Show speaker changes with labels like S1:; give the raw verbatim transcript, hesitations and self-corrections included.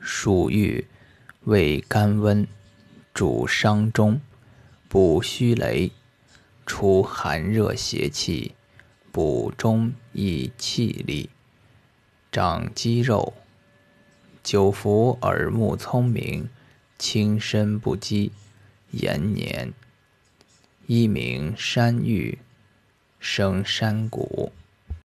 S1: 属玉，味甘温，主伤中，补虚羸，除寒热邪气，补中益气力，长肌肉。久服耳目聪明，轻身不饥，延年。一名山芋，生山谷。